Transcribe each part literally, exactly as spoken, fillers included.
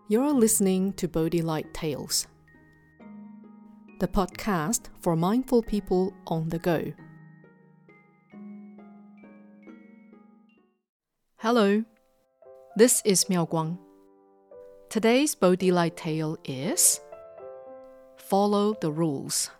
You're listening to Bodhi Light Tales, the podcast for mindful people on the go. Hello, this is Miao Guang. Today's Bodhi Light Tale is Follow the Rules.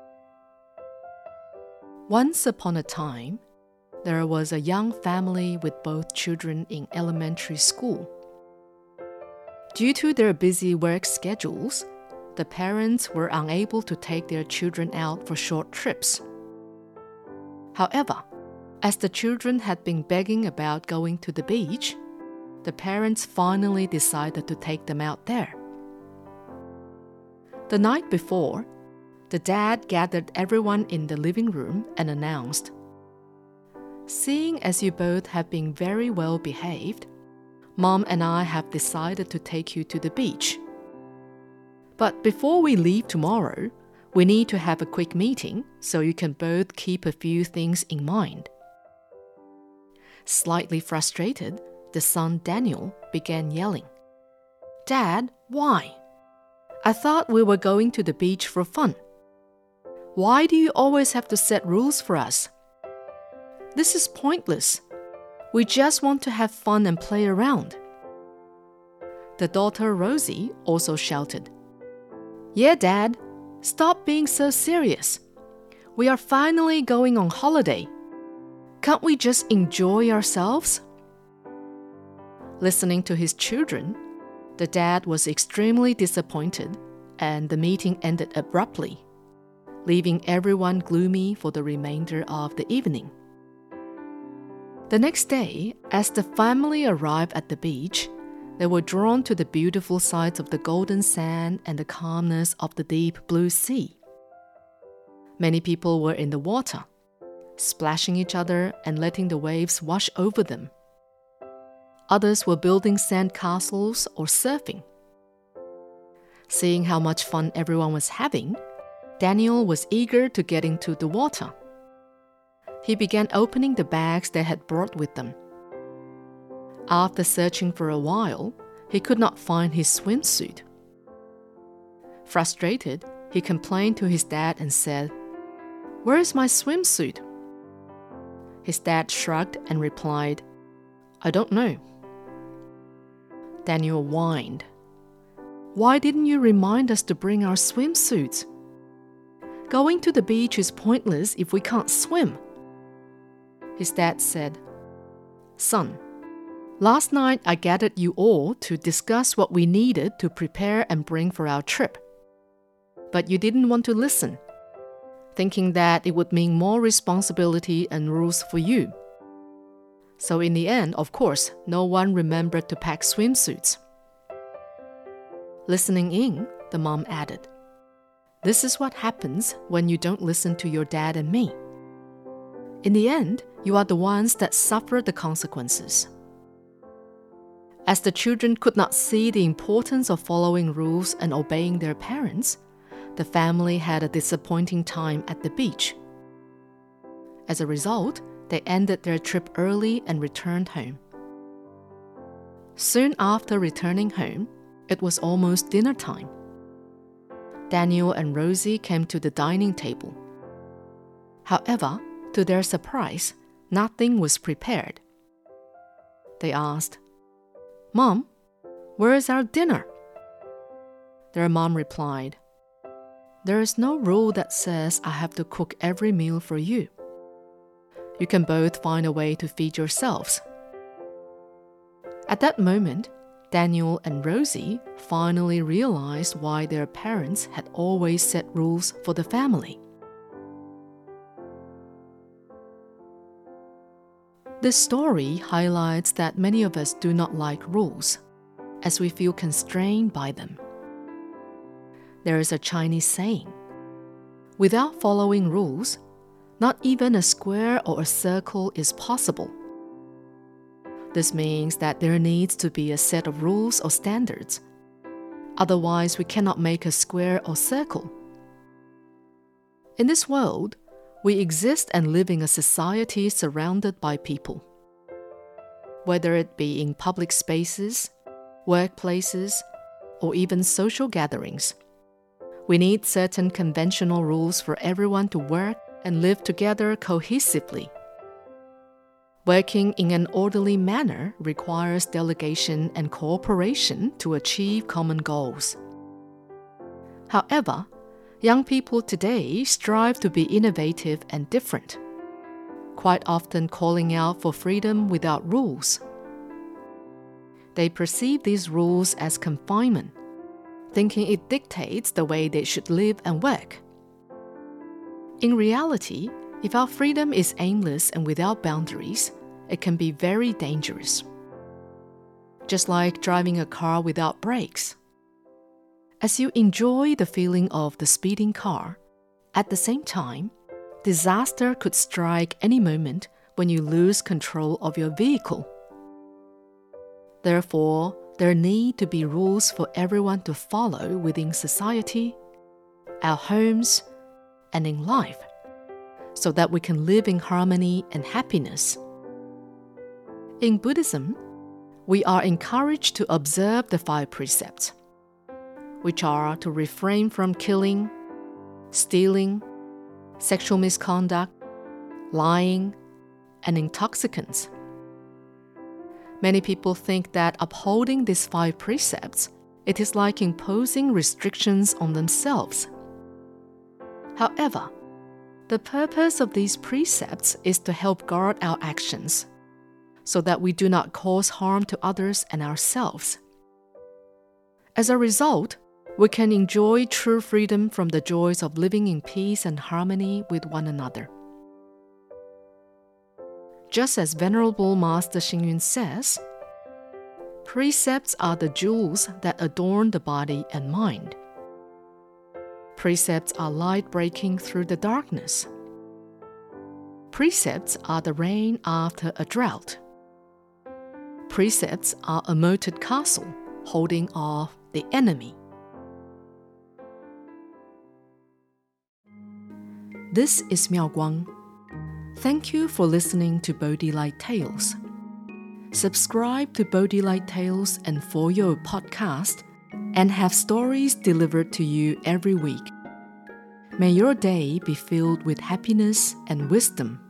Once upon a time, there was a young family with both children in elementary school. Due to their busy work schedules, the parents were unable to take their children out for short trips. However, as the children had been begging about going to the beach, the parents finally decided to take them out there. The night before, the dad gathered everyone in the living room and announced, "Seeing as you both have been very well behaved, Mom and I have decided to take you to the beach. But before we leave tomorrow, we need to have a quick meeting so you can both keep a few things in mind." Slightly frustrated, the son Daniel began yelling, "Dad, why? I thought we were going to the beach for fun. Why do you always have to set rules for us? This is pointless. We just want to have fun and play around." The daughter Rosie also shouted, "Yeah, Dad, stop being so serious. We are finally going on holiday. Can't we just enjoy ourselves?" Listening to his children, the dad was extremely disappointed, and the meeting ended abruptly, leaving everyone gloomy for the remainder of the evening. The next day, as the family arrived at the beach, they were drawn to the beautiful sights of the golden sand and the calmness of the deep blue sea. Many people were in the water, splashing each other and letting the waves wash over them. Others were building sand castles or surfing. Seeing how much fun everyone was having, Daniel was eager to get into the water. He began opening the bags they had brought with them. After searching for a while, he could not find his swimsuit. Frustrated, he complained to his dad and said, "Where is my swimsuit?" His dad shrugged and replied, "I don't know." Daniel whined, "Why didn't you remind us to bring our swimsuits? Going to the beach is pointless if we can't swim." His dad said, "Son, last night I gathered you all to discuss what we needed to prepare and bring for our trip. But you didn't want to listen, thinking that it would mean more responsibility and rules for you. So in the end, of course, no one remembered to pack swimsuits." Listening in, the mom added, "This is what happens when you don't listen to your dad and me. In the end, you are the ones that suffer the consequences." As the children could not see the importance of following rules and obeying their parents, the family had a disappointing time at the beach. As a result, they ended their trip early and returned home. Soon after returning home, it was almost dinner time. Daniel and Rosie came to the dining table. However, to their surprise, nothing was prepared. They asked, "Mom, where is our dinner?" Their mom replied, "There is no rule that says I have to cook every meal for you. You can both find a way to feed yourselves." At that moment, Daniel and Rosie finally realized why their parents had always set rules for the family. This story highlights that many of us do not like rules, as we feel constrained by them. There is a Chinese saying, "Without following rules, not even a square or a circle is possible." This means that there needs to be a set of rules or standards. Otherwise, we cannot make a square or circle. In this world, we exist and live in a society surrounded by people. whether it be in public spaces, workplaces, or even social gatherings. We need certain conventional rules for everyone to work and live together cohesively. Working in an orderly manner requires delegation and cooperation to achieve common goals. However, young people today strive to be innovative and different, quite often calling out for freedom without rules. They perceive these rules as confinement, thinking it dictates the way they should live and work. In reality, if our freedom is aimless and without boundaries, it can be very dangerous. Just like driving a car without brakes. As you enjoy the feeling of the speeding car, at the same time, disaster could strike any moment when you lose control of your vehicle. Therefore, there need to be rules for everyone to follow within society, our homes, and in life, so that we can live in harmony and happiness. In Buddhism, we are encouraged to observe the five precepts, which are to refrain from killing, stealing, sexual misconduct, lying, and intoxicants. Many people think that upholding these five precepts, it is like imposing restrictions on themselves. However, the purpose of these precepts is to help guard our actions, so that we do not cause harm to others and ourselves. As a result, we can enjoy true freedom from the joys of living in peace and harmony with one another. Just as Venerable Master Xing Yun says, precepts are the jewels that adorn the body and mind. Precepts are light breaking through the darkness. Precepts are the rain after a drought. Precepts are a moated castle holding off the enemy. This is Miao Guang. Thank you for listening to Bodhi Light Tales. Subscribe to Bodhi Light Tales and For Your podcast and have stories delivered to you every week. May your day be filled with happiness and wisdom.